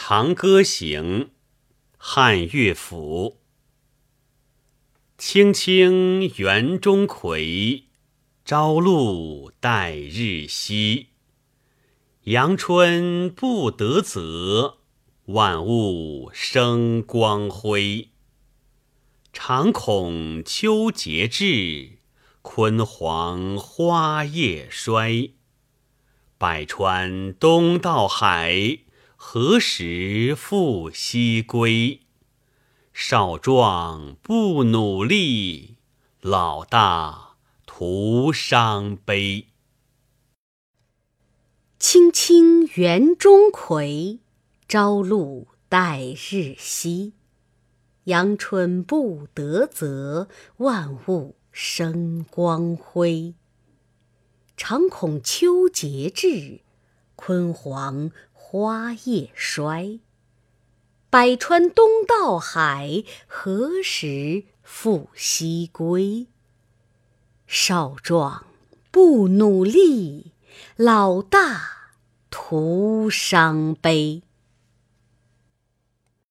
长歌行》汉乐府。青青园中葵，朝露待日晞。阳春布德泽，万物生光辉。常恐秋节至，焜黄花叶衰。百川东到海，何时复西归？少壮不努力，老大徒伤悲。 青青园中葵，朝露待日晞。阳春布德泽，万物生光辉。常恐秋节至，焜黄花叶衰。百川东到海，何时复西归？少壮不努力，老大徒伤悲。